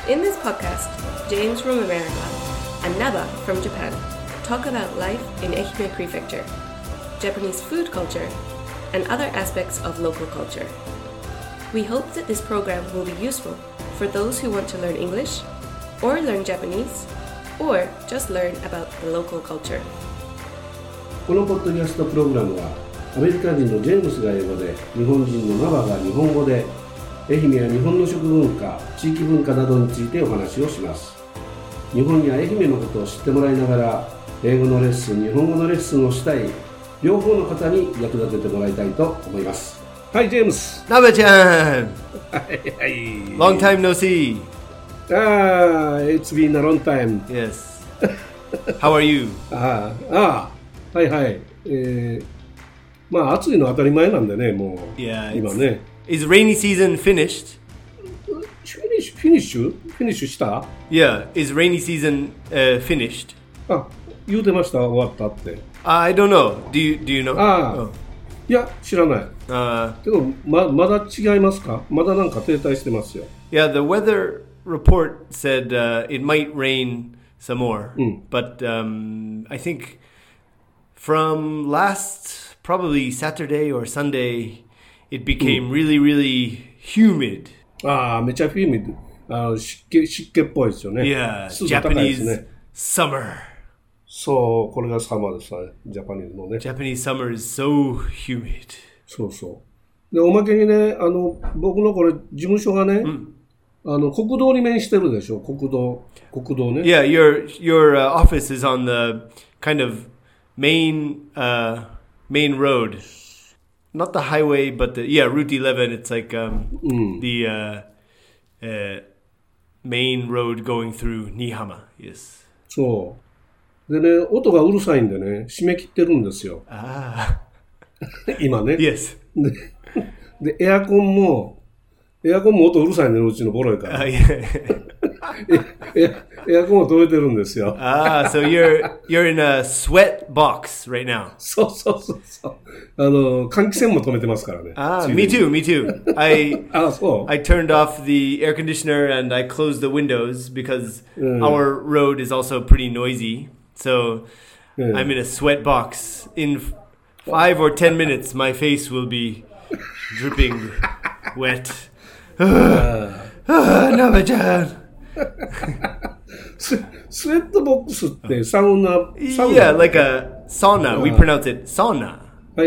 In this podcast, James from America and Naba from Japan talk about life in Ehime Prefecture, Japanese food culture, and other aspects of local culture. We hope that this program will be useful for those who want to learn English, or learn Japanese, or just learn about the local culture. このポッドキャストプログラムはアメリカ人のジェームスが英語で、日本人のナバが日本語で、愛媛や日本の食文化、地域文化などについてお話をします。日本や愛媛のことを知ってもらいながら、英語のレッスン、日本語のレッスンをしたい両方の方に役立ててもらいたいと思います。はい、ジェームス。 Naba-chan! はいはい。 Long time no see. It's been a long time. Yes. How are you? はいはい。まあ暑いのは当たり前なんでね、もう、今ね。 Is rainy season finished? Finish した？ Yeah, is rainy season finished? 言うてました、終わったって。 I don't know. Do you know? いや、知らない。けど、まだ違いますか？まだなんか停滞してますよ。 Yeah, the weather report said it might rain some more. But I think from last, probably Saturday or Sunday, it became really, really humid. めちゃフィーミッド。湿気っぽいですよね。 Yeah, 湿度高いですね。 Japanese summer. そう、これがサマーですね。ジャパニーズのね。 Japanese summer is so humid. そうそう。で、おまけにね、僕のこれ、事務所がね、国道に面してるでしょ、国道ね。 Yeah, your office is on the kind of main road. Not the highway, but Route 11. It's like the main road going through Nihama. Yes. そう。でね、音がうるさいんでね、締め切ってるんですよ。今ね。 Yes. で、エアコンも音うるさいね、うちのボロいから。エアコンを止めてるんですよ。 So you're in a sweat box right now. そう。換気扇も止めてますからね。 Me too. I そう。 I turned off the air conditioner and I closed the windows because our road is also pretty noisy. So I'm in a sweat box. In 5 or 10 minutes, my face will be dripping wet. Naba-chan. スウェットボックスってサウナ Yeah, like a sauna. We pronounce it sauna. はい。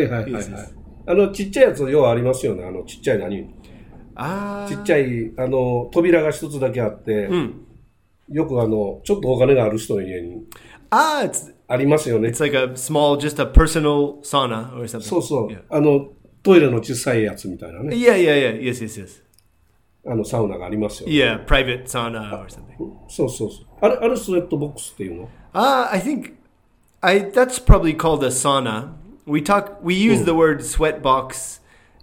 ちっちゃいやつ要はありますよね。ちっちゃい何？ちっちゃい扉が一つだけあって、よくちょっとお金がある人の家にありますよね。 It's like just a personal sauna or something. そう。Yeah. トイレの小さいやつみたいなね。 Yeah. Yes. サウナがありますよね。 Yeah, private sauna or something. そう。あれスウェットボックスっていうの？ I think that's probably called a sauna. We use the word sweat box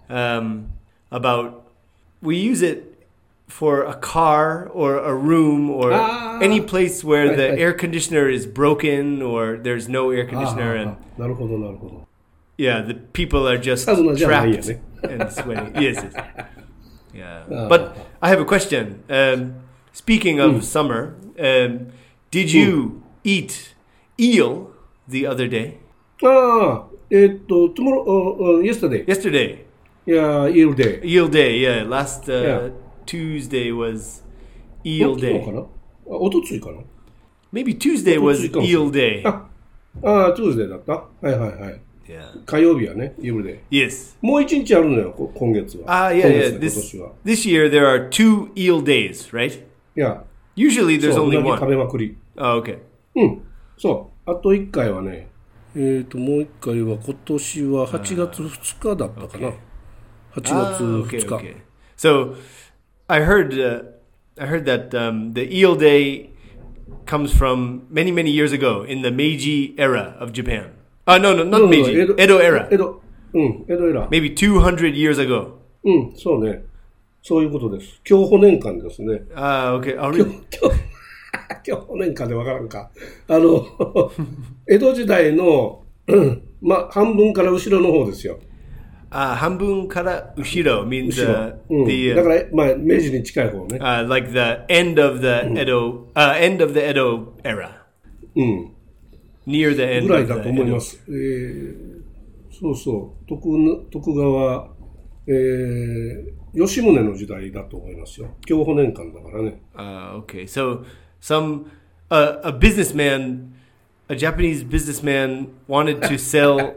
we use it for a car or a room or any place where the air conditioner is broken or there's no air conditioner and なるほど。 Yeah, the people are just trapped and sweating. Yes. Yeah. But I have a question. Speaking of summer, did you eat eel the other day? Tomorrow, yesterday. Yesterday. Yeah, eel day. Eel day, yeah. Last Tuesday was eel day. おとついかな? Maybe Tuesday was eel day. Tuesday だった? はい。 Yeah. 火曜日はね、eel day. Yes. もう一日あるのよ、今月は。 Yeah. This year there are 2 eel days, right? Yeah. Usually there's only one. 食べまくり。 Okay. そう。あと1回はね、もう1回は今年は8月2日だったかな。8月2日。 Okay. So, I heard that the eel day comes from many, many years ago in the Meiji era of Japan. No, not Meiji. Edo era. 江戸エラー。 Maybe 200 years ago. そうね。そういうことです。享保年間ですね。 Okay. 享保年間でわからんか。江戸時代の、半分から後ろの方ですよ。 半分から後ろ means 後ろ。 the だから、まあ、明治に近い方ね。 like the end of the Edo era. うん。 Near the end ぐらい of だ the と思い Edo. ます。そうそう。徳川、吉宗の時代だと思いますよ。享保年間だからね。 Okay. So a businessman, a Japanese businessman wanted to sell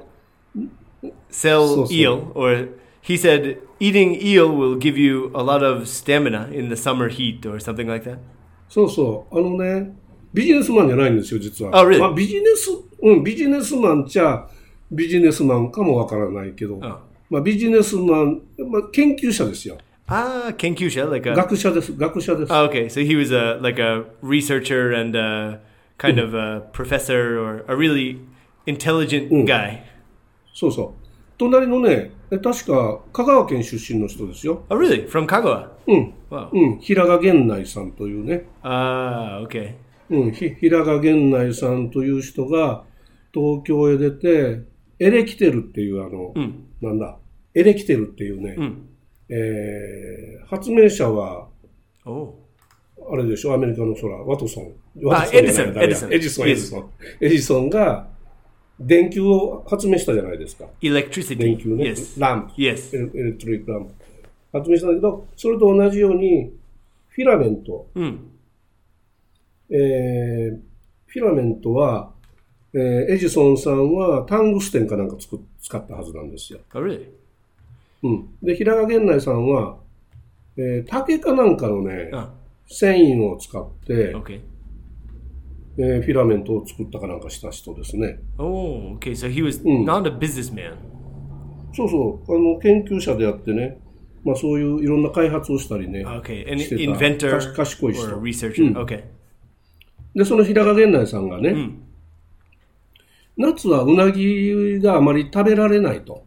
eel, or he said eating eel will give you a lot of stamina in the summer heat or something like that. そうそう。ビジネスマンじゃないんですよ、実は。 really? まあ、ビジネスマンっちゃビジネスマンかもわからないけど、まあ、ビジネスマン、まあ、研究者ですよ。 研究者 like a 学者です。 Okay, so he was like a researcher and kind of a professor or a really intelligent guy. そうそう。隣のね、確か香川県出身の人ですよ。 Oh, really? From Kagawa? うん。 Wow. 平賀源内さんというね。 Okay. 平賀源内さんという人が東京へ出て、エレキテルっていうなんだ、エレキテルっていうね、発明者は、あれでしょ、アメリカのワトソン。 エジソンが電球を発明したじゃないですか。 Electricity. 電球ね。 Yes. ランプ。 Yes. エレクトリックランプ。発明したんだけど、それと同じように、フィラメント。フィラメントは、エジソンさんはタングステンかなんか使ったはずなんですよ。 Oh, really? で、平賀源内さんは、竹かなんかのね、繊維を使って、フィラメントを作ったかなんかした人ですね。 Oh, okay. So he was not a businessman. そうそう。研究者であってね、まあそういういろんな開発をしたりね。 Okay. An inventor 賢い人。 or a researcher. Okay. で、その平賀源内さんがね、夏はうなぎがあまり食べられないと。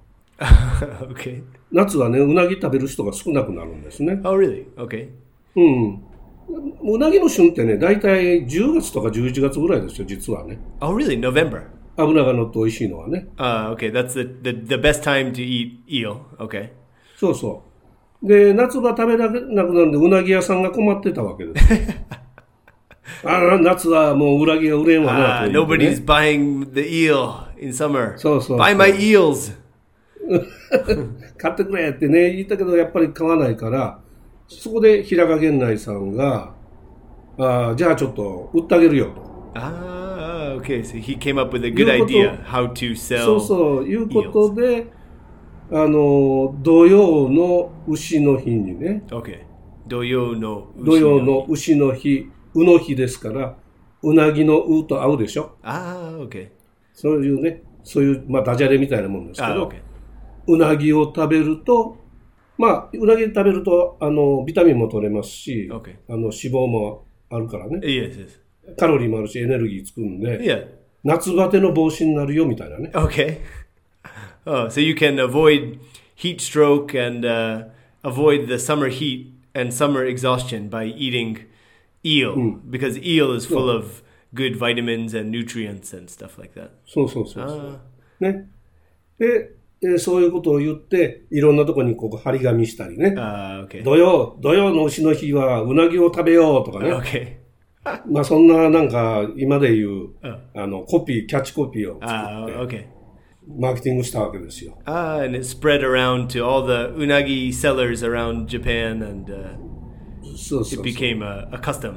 Okay. 夏はね、うなぎ食べる人が少なくなるんですね。 Oh, really? Okay. うなぎの旬ってね、だいたい10月とか11月ぐらいですよ、実はね。 Oh, really? November? 脂が乗って美味しいのはね。 Okay. That's the best time to eat eel. Okay. そうそう。で、夏場食べられなくなるんで、うなぎ屋さんが困ってたわけです。夏はもううなぎが売れんわなと、ね。 Nobody's buying the eel in summer. そうそう。 Buy my eels. 買ってくれってね、言ったけど、やっぱり買わないから、そこで平賀源内さんが、じゃあちょっと売ってあげるよと。 Okay. So he came up with a good idea how to sell. そうそう、いうことで、土曜の牛の日にね。 Okay. 土曜の牛の日、うの日ですから、うなぎのうと合うでしょ。 Okay. そういうね、まあダジャレみたいなもんですけど、うなぎを食べると、まあ、うなぎ食べると、ビタミンも取れますし、脂肪もあるからね。 Yes. カロリーもあるし、エネルギーつくんで、夏バテの防止になるよ、みたいなね。 Okay. So you can avoid heat stroke and avoid the summer heat and summer exhaustion by eating eel, because eel is full of good vitamins and nutrients and stuff like that. そう。ね。で、そういうことを言って、いろんなとこにここ張り紙したりね。土曜の牛の日はうなぎを食べようとかね。まあそんななんか今で言う、キャッチコピーを作って、マーケティングしたわけですよ。 And it spread around to all the unagi sellers around Japan, and it became a custom.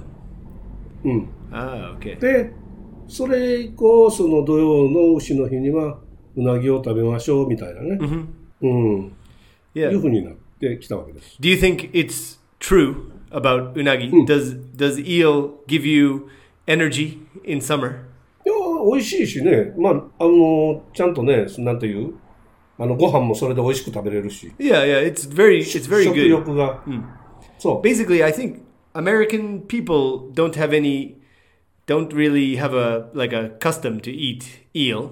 Okay. で、それ以降、その土曜の牛の日には、うなぎを食べましょうみたいなね。いうふうになってきたわけです。 Do you think it's true about unagi? Does eel give you energy in summer? いや、美味しいしね。まあ、ちゃんとね、なんていう、ご飯もそれで美味しく食べれるし。 Yeah, it's very good. 食欲が。 そう。Basically, I think American people don't really have a custom to eat eel.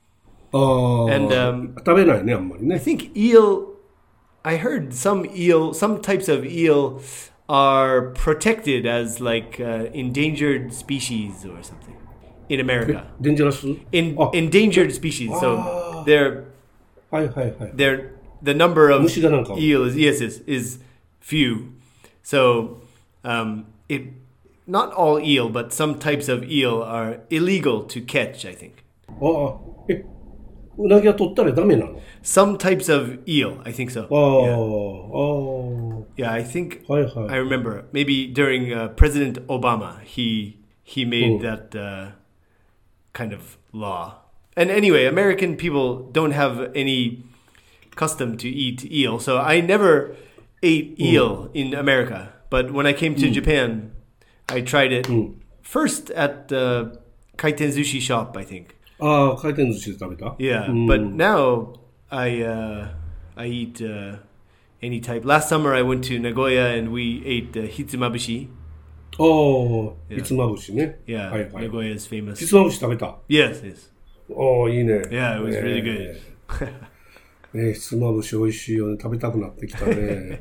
And 食べないね、あんまりね。 I think I heard some types of eel are protected as like endangered species or something in America. Dangerous? Endangered species. So they're the number of 虫がなんか eel is few. So it not all eel, but some types of eel are illegal to catch, I think. ああ、うなぎは取ったらダメなの？ Some types of eel, I think so. ああ、 Yeah, I think はいはい。 I remember maybe during President Obama, he made that kind of law. And anyway, American people don't have any custom to eat eel, so I never ate eel in America. But when I came to Japan, I tried it first at the kaiten sushi shop, I think. ああ、回転寿司で食べた？ Yeah, but now I eat any type. Last summer I went to Nagoya and we ate hitsumabushi. ああ、ひつまぶしね。 Yeah, はいはい。 Nagoya is famous. ひつまぶし食べた？ Yes, yes. ああ、いいね。 Yeah, it was really good. ひつまぶし美味しいよね。食べたくなってきたね。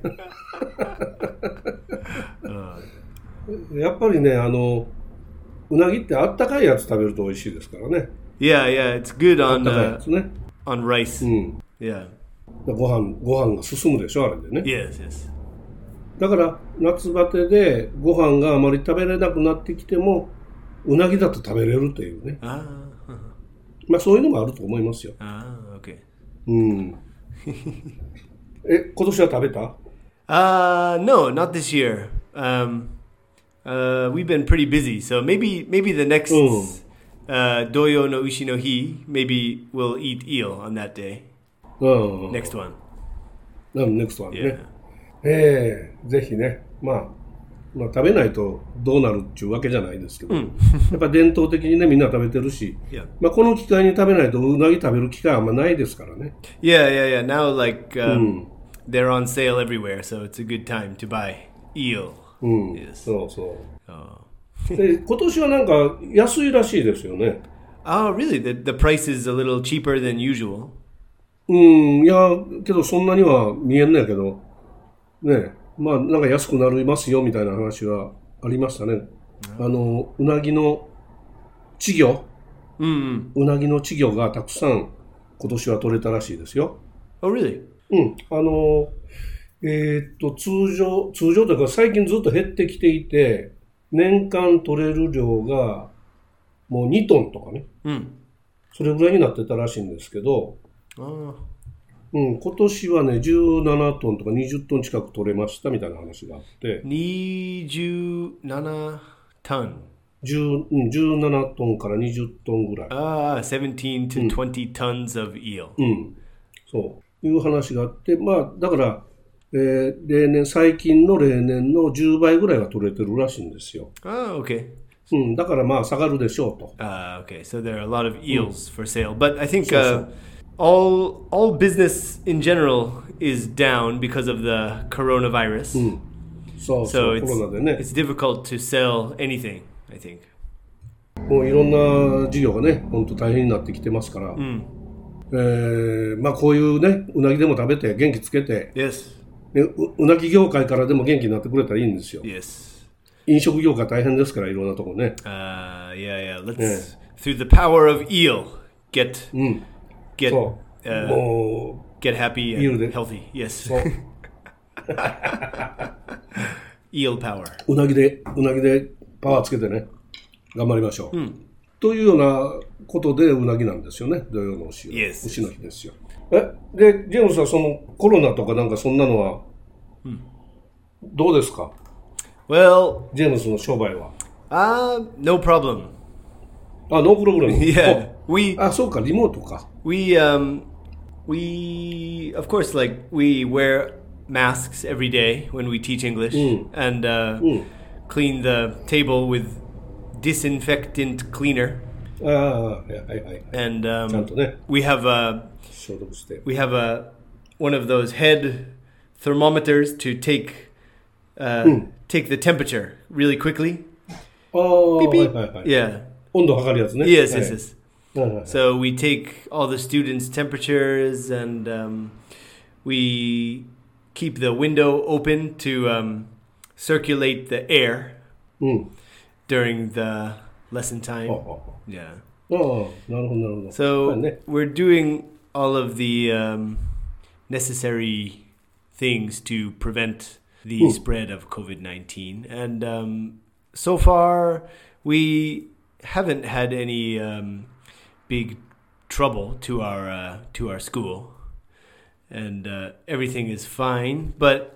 やっぱりね、うなぎってあったかいやつ食べると美味しいですからね。 Yeah, yeah, it's good あっ on たかいやつね。 on rice. うん。 Yeah. ご飯が進むでしょ、あれでね。 Yes, yes. だから夏バテでご飯があまり食べれなくなってきてもうなぎだと食べれるというね。 Ah, まあそういうのもあると思いますよ。 okay. うん。今年は食べた？ No, not this year. We've been pretty busy, so maybe the next Doyo no Ushi no Hi, maybe we'll eat eel on that day. うん。 Next one. next one ね。 Yeah. ぜひね、まあ食べないとどうなるっていうわけじゃないですけど、やっぱ伝統的にねみんな食べてるし、 Yeah. まあこの機会に食べないとうなぎ食べる機会あんまないですからね。 Yeah. Now, like, they're on sale everywhere, so it's a good time to buy eel. うん。 Yes. そうそう。 Oh. で今年はなんか安いらしいですよね。 Oh, really? The price is a little cheaper than usual. いやけどそんなには見えんねんけどね、まあなんか安くなりますよみたいな話はありましたね。うなぎの稚魚、うなぎの稚魚がたくさん今年は取れたらしいですよ。 Oh, really? 通常というか最近ずっと減ってきていて、年間取れる量がもう2トンとかね、それぐらいになってたらしいんですけど、 Oh. 今年はね17トンとか20トン近く取れましたみたいな話があって、 27 ton. 17トンから20トンぐらい、 17 to 20 tons of eel. そういう話があって、まあだから、最近の例年の10倍ぐらいが取れてるらしいんですよ。 Oh, okay. だからまあ下がるでしょうと。 Okay. So there are a lot of eels for sale, but I think all business in general is down because of the coronavirus. そう So コロナでね、 it's difficult to sell anything, I think. もういろんな事業がね、本当大変になってきてますから、まあこういうね、うなぎでも食べて元気つけて、 Yes. うなぎ業界からでも元気になってくれたらいいんですよ。 Yes. 飲食業界大変ですから、いろんなとこね。 Yeah. Let's through the power of eel get そう、 も get happy Eel and で healthy. Yes. そう Eel power. うなぎでパワーつけてね、頑張りましょう。というようなことでうなぎなんですよね、土曜の牛は、 Yes. 牛の日ですよ。で、ジェームスはそのコロナとかなんかそんなのは、どうですか？ Well, ジェームスの商売は。 no problem. ノープログラム。 Yeah. We そうか、リモートか。 we of course, like, we wear masks every day when we teach English and clean the table with disinfectant cleaner. はい。 And ちゃんとね、 we have 消毒して。 one of those head thermometers to take the temperature really quickly. はい。 Yeah. 温度測るやつね。 Yes. はい So we take all the students' temperatures and we keep the window open to circulate the air during the lesson time. Yeah. なるほど。 So ね、 we're doing all of the necessary things to prevent the spread of COVID-19. And so far, we haven't had any big trouble to our school, and everything is fine. But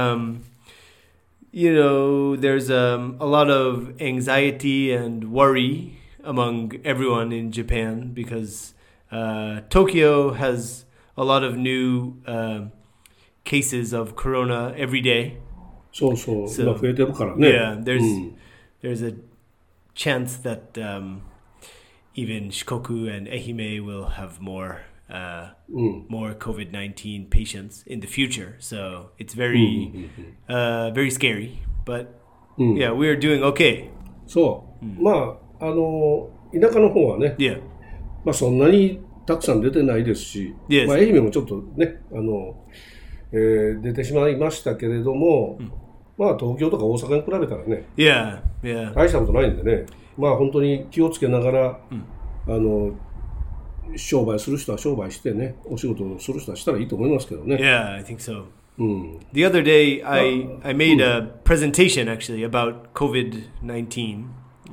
there's a lot of anxiety and worry among everyone in Japan because Tokyo has a lot of new cases of corona every day. そうそう、今増えてるからね。 Yeah, there's a chance that even Shikoku and Ehime will have more COVID-19 patients in the future. So it's very scary. But yeah, we are doing okay. そう。まあ田舎の方はね、まあそんなにたくさん出てないですし、まあ愛媛もちょっとね出てしまいましたけれども、まあ東京とか大阪に比べたらね、大したことないんでね、まあ本当に気をつけながら、商売する人は商売してね、お仕事をする人はしたらいいと思いますけどね。 Yeah, I think so. The other day, I made a presentation actually about COVID-19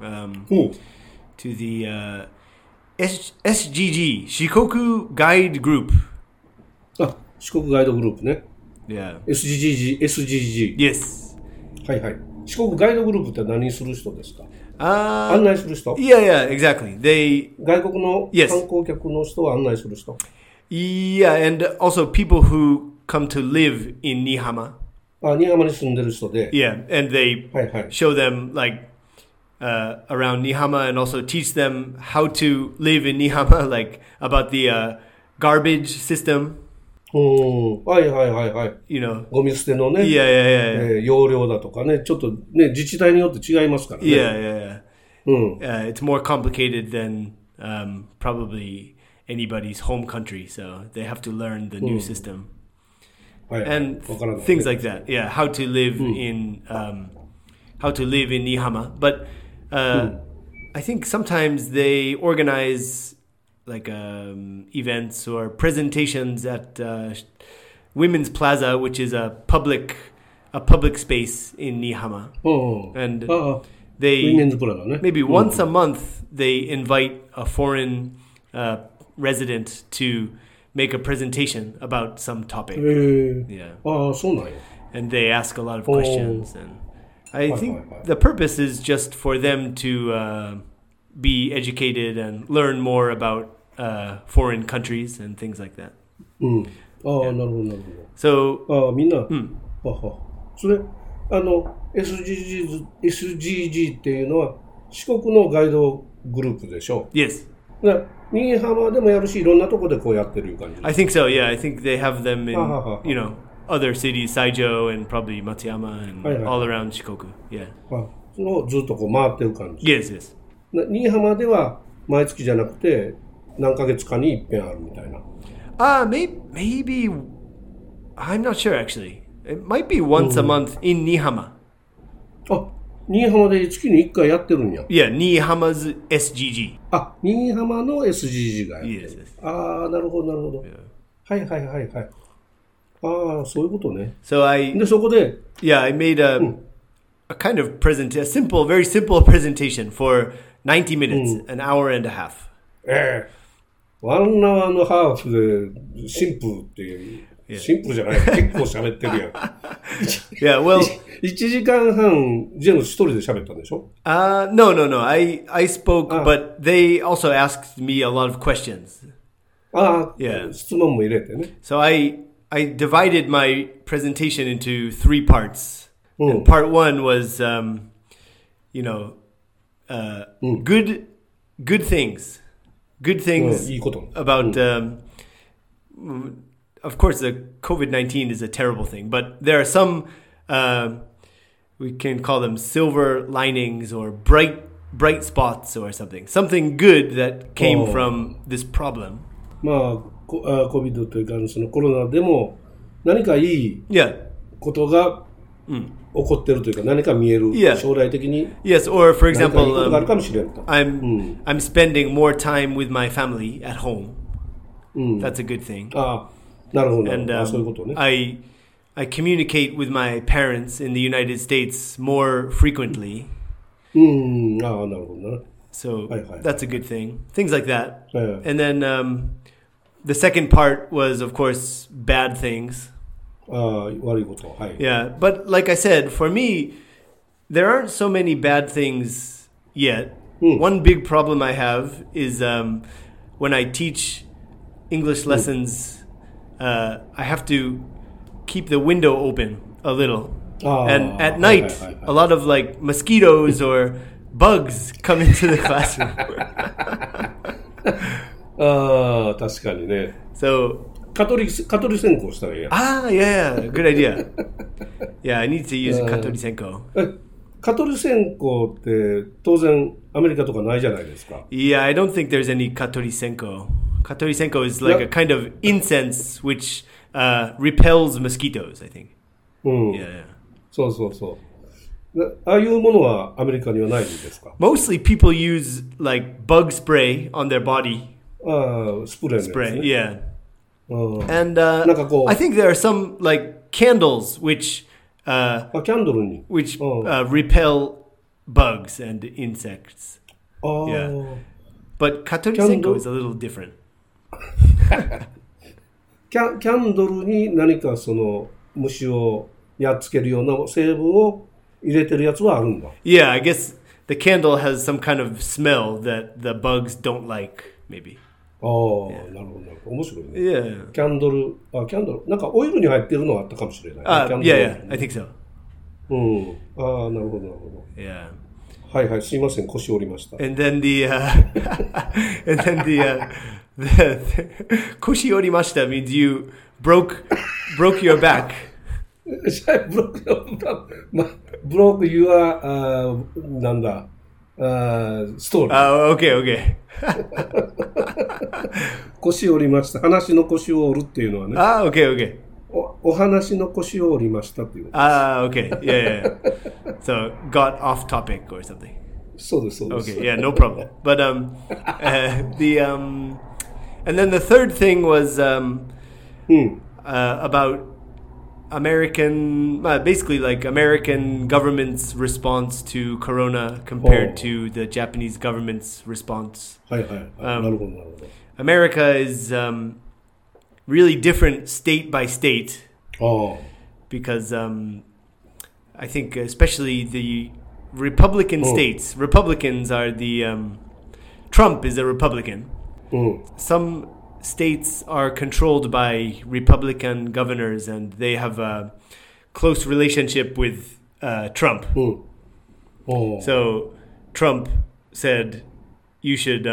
to the SGG, Shikoku Guide Group. あ、四国ガイドグループね。 Yeah. SGG。 Yes. はいはい。四国ガイドグループって何する人ですか？案内する人？ Yeah, exactly. 外国の観光客の人を案内する人？ Yeah, and also people who come to live in Nihama. あ、新居浜に住んでる人で。 Yeah, and they show them like around Nihama and also teach them how to live in Nihama, like about the garbage system. はいはいはいはい。ゴミ捨てのね、容量だとかね、ちょっとね、自治体によって違いますからね。It's more complicated than probably anybody's home country, so they have to learn the new system. And things like that. Yeah, how to live in Nihama. But I think sometimes they organize like events or presentations at Women's Plaza, which is a public space in Nihama. And they maybe once a month they invite a foreign resident to make a presentation about some topic. And they ask a lot of questions, and I think the purpose is just for them to be educated and learn more about foreign countries and things like that. なるほどなるほど。 So みんな、それSGG っていうのは四国のガイドグループでしょ？ Yes. 新居浜でもやるし、いろんなとこでこうやってる感じ。 I think so. Yeah, I think they have them in other cities, Saijo and probably Matsuyama and all around Shikoku. Yeah. そのずっとこう回ってる感じ。 Yes, yes. 新居浜では毎月じゃなくて何ヶ月かに一遍あるみたいな。 Maybe I'm not sure actually. It might be once a month in Nihama. あ、新居浜で月に1回やってるんや。 Yeah, Nihama's SGG. あ、新居浜の SGG がやってる。 Yes, yes. ああ、なるほどなるほど。はいはいはいはい。ああ、そういうことね。 So でそこで I made a kind of very simple presentation for 90 minutes, an hour and a half. 1 hour and a half でシンプルっていう。シンプルじゃない。結構喋ってるやん。 Yeah, well, 1時間半ジェームス一人で喋ったんでしょ ？No. I spoke, but they also asked me a lot of questions. Yeah. 質問も入れてね。 So I divided my presentation into 3 parts. And part 1 was, good things. Good things about, of course, the COVID-19 is a terrible thing, but there are some, we can call them silver linings or bright spots or something. Something good that came from this problem. まあ、COVID というか、そのコロナでも何かいいことが起こってるというか、何か見える、将来的に Yes, or for 何かいい example, ことがあるかもしれんと。 I'm spending more time with my family at home. That's a good thing. なるほど。 And そういうことね。 I communicate with my parents in the United States more frequently. なるほどな。 So Hi, hi. that's a good thing. Things like that. ええ And then the second part was, of course, bad things. 悪いこと。はい。 Yeah, but like I said, for me, there aren't so many bad things yet. One big problem I have is when I teach English lessons, I have to keep the window open a little. And at night, a lot of like mosquitoes or bugs come into the classroom. 確かにね。 So, 蚊取り線香したらいいや。 yeah, good idea. Yeah, I need to use Katori Senko. 蚊取り線香って当然アメリカとかないじゃないですか。 Yeah, I don't think there's any Katori Senko. Katori Senko is like a kind of incense which repels mosquitoes, I think. Yeah. そうそうそう。ああいうものはアメリカにはないんですか？ Mostly people use like bug spray on their body. スプレーのやつ Spray, ね。 yeah. うん、 And なんかこう、 I think there are some like candles which キャンドルに。 repel bugs and insects. Yeah. But Katori Senko is a little different. キャンドルに何かその虫をやっつけるような成分を入れてるやつはあるんだ。 Yeah, I guess the candle has some kind of smell that the bugs don't like, maybe. なるほどなるほど。面白いね。 Yeah. キャンドル、なんかオイルに入ってるのはあったかもしれない、キャンドル Yeah, I think so. なるほどなるほど。 Yeah. はいはい、すいません、腰折りました。 And then the koshi orimashita means you broke your back. broke your なんだストーリー。 Oh, okay. 腰折りました。話の腰を折るっていうのはね。 Okay. お話の腰を折りましたっていう。 Okay. Yeah. So got off topic or something. そうですそうです。 Okay, yeah, no problem. But and then the third thing was about basically like American government's response to Corona compared to the Japanese government's response. はいはい。なるほどなるほど。 America is really different state by state because I think especially the Republican states, Republicans are the Trump is a Republican. Some states are controlled by Republican governors and they have a close relationship with Trump. So Trump said you should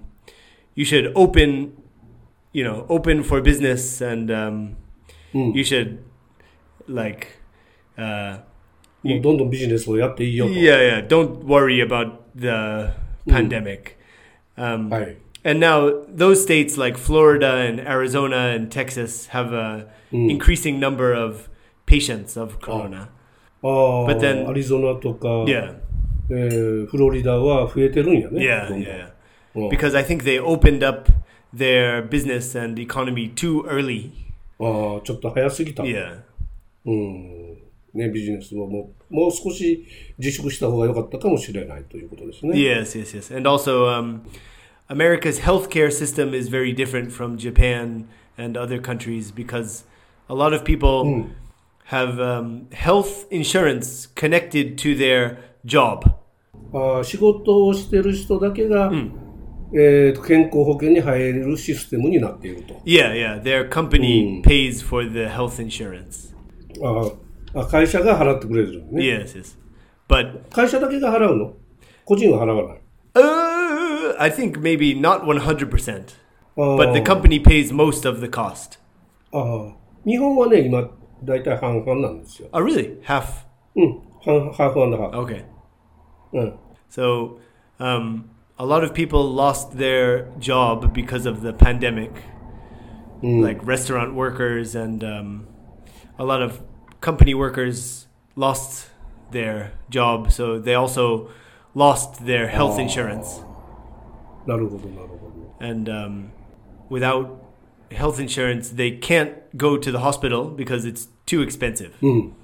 open for business and you should like もうどんどんビジネスをやっていいよと。 Yeah, don't worry about the pandemic. はい。 And now those states like Florida and Arizona and Texas have a increasing number of patients of corona. But then アリゾナとか、 yeah, フロリダは増えてるんやね。 yeah. Because I think they opened up their business and economy too early. ちょっと早すぎた。 Yeah. ね、ビジネスはもう少し自粛した方が良かったかもしれないということですね。 Yes. And also, America's healthcare system is very different from Japan and other countries because a lot of people have health insurance connected to their job. 仕事をしてる人だけが、健康保険に入れるシステムになっていると。 Yeah. Their company pays for the health insurance. 会社が払ってくれるね。 Yes. But 会社だけが払うの？個人は払わない。 I think maybe not 100%. But the company pays most of the cost. 日本はね、今、だいたい半々なんですよ。 Oh, really? Half? ハーフ&ハーフ。 Okay. So, a lot of people lost their job because of the pandemic. Like restaurant workers and a lot of company workers lost their job, so they also lost their health insurance. なるほどなるほど。 And without health insurance, they can't go to the hospital because it's too expensive.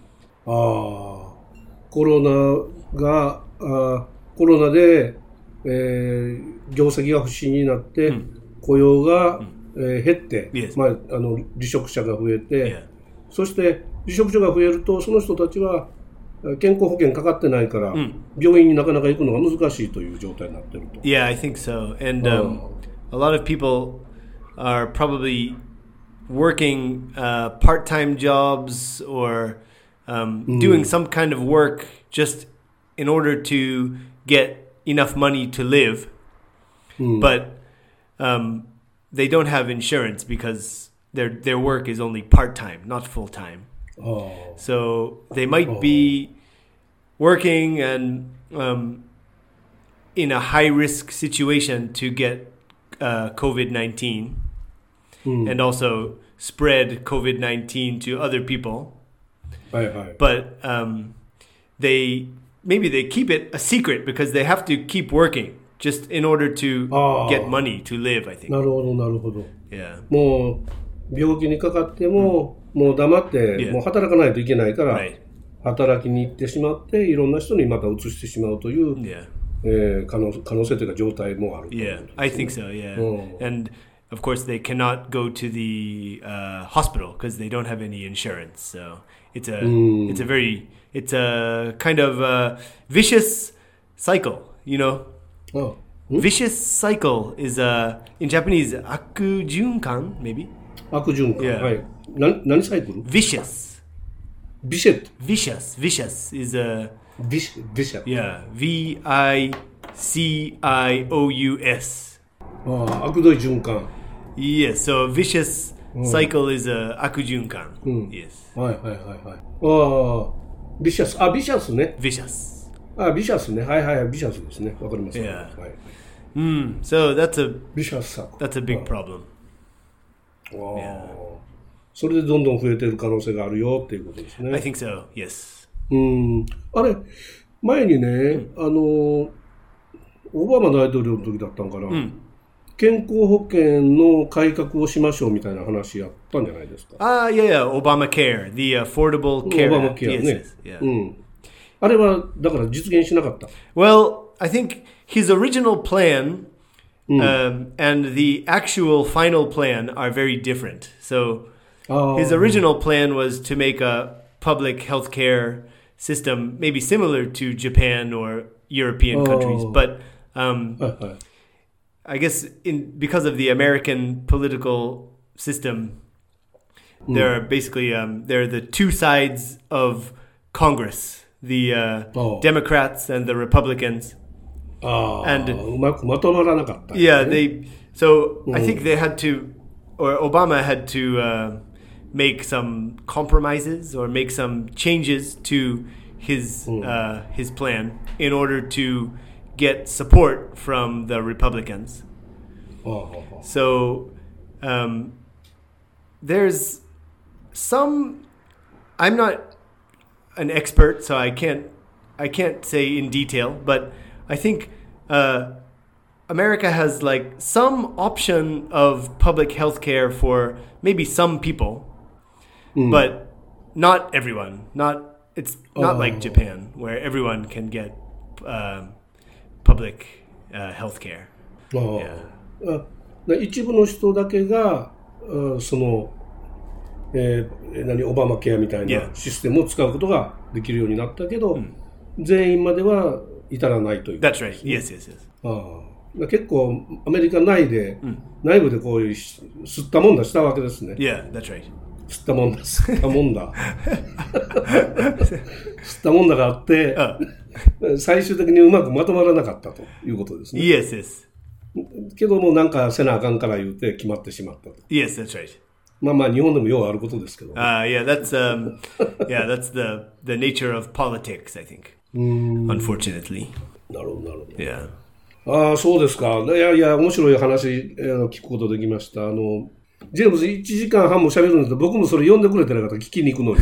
コロナで、業績が不振になって、雇用が、減って、離職者が増えて、そして離職者が増えるとその人たちは健康保険かかってないから、病院になかなか行くのが難しいという状態になっていると。 Yeah, I think so. And a lot of people are probably working part-time jobs or doing some kind of work just in order to get enough money to live, but they don't have insurance because their work is only part-time, not full-time. So they might be working and in a high-risk situation to get COVID-19 and also spread COVID-19 to other people. But maybe they keep it a secret because they have to keep working just in order to get money to live, I think. なるほど、なるほど。 Yeah. もう病気にかかっても、もう黙って、もう働かないといけないから、働きに行ってしまって、いろんな人にまた移してしまうという、可能性というか状態もある。 Yeah, I think so, yeah. And of course, they cannot go to the hospital because they don't have any insurance. So it's a kind of vicious cycle, you know. Vicious cycle is in Japanese 悪循環 maybe. 悪循環、はい。何サイクル？ Vicious. Vicious is a vicious. Yeah, VICIOUS. 悪どい循環。 Yes, so vicious cycle is a 悪循環。Yes. はい。vicious ね。 vicious. vicious ね。はい。vicious ですね。わかります。 Yeah. So that's a big problem. それでどんどん増えている可能性があるよっていうことですね。 I think so. Yes. あれ前にね、オバマ大統領の時だったんかな。健康保険の改革をしましょうみたいな話やったんじゃないですか。 Yeah, Obamacare, the Affordable Care Act. Obamacare ね。あれはだから実現しなかった。 Well, I think his original plan and the actual final plan are very different. So his original plan was to make a public healthcare system maybe similar to Japan or European countries, but I guess because of the American political system, there are basically there are the two sides of Congress, the Democrats and the Republicans. And うまくまとまらなかった、ね。 Yeah, I think they had to, or Obama had to make some compromises or make some changes to his plan in order to get support from the Republicans. So there's some. I'm not an expert, so I can't say in detail, but I think America has like some option of public health care for maybe some people, but not everyone. It's not like Japan where everyone can get public health care. 一部の人だけがその、オバマケアみたいなシステムを使うことができるようになったけど、全員までは至らないという。 That's right. Yes. 結構アメリカ内部でこういう吸ったもんだしたわけですね。 Yeah, that's right. 吸ったもんだ吸ったもんだがあって、最終的にうまくまとまらなかったということですね。 Yes. けどもなんかせなあかんから言うて決まってしまったと。 Yes, that's right. まあ日本でもようあることですけど。 Yeah, that's the nature of politics, I think. Unfortunately. なるほど。 Yeah. そうですか。いや面白い話聞くことできました。ジェームズ1時間半も喋るんですけど、僕もそれ呼んでくれてなかったら聞きに行くのに。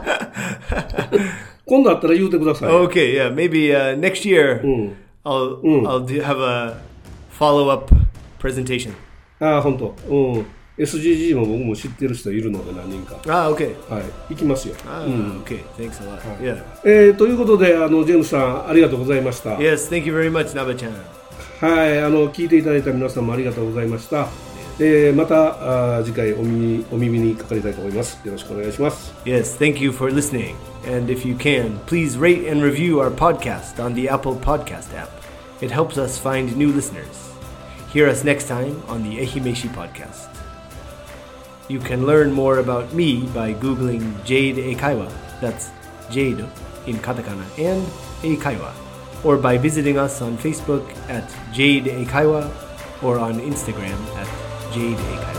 今度あったら言うてください。 Okay, yeah, maybe next year I'll have a follow-up presentation. 本当。 SGG も僕も知ってる人いるので何人か。 Okay. はい、行きますよ。 Okay. Thanks a lot. Yeah. ということでジェームスさんありがとうございました。 Yes, thank you very much, Naba-chan. はい、聞いていただいた皆さんもありがとうございました。また次回お耳にかかりたいと思います。よろしくお願いします。 Yes, thank you for listening. And if you can, please rate and review our podcast on the Apple Podcast app. It helps us find new listeners. Hear us next time on the Ehimeshi Podcast. You can learn more about me by Googling Jade Eikaiwa, that's Jade in katakana, and Eikaiwa, or by visiting us on Facebook at Jade Eikaiwa or on Instagram at Jade Eikaiwa.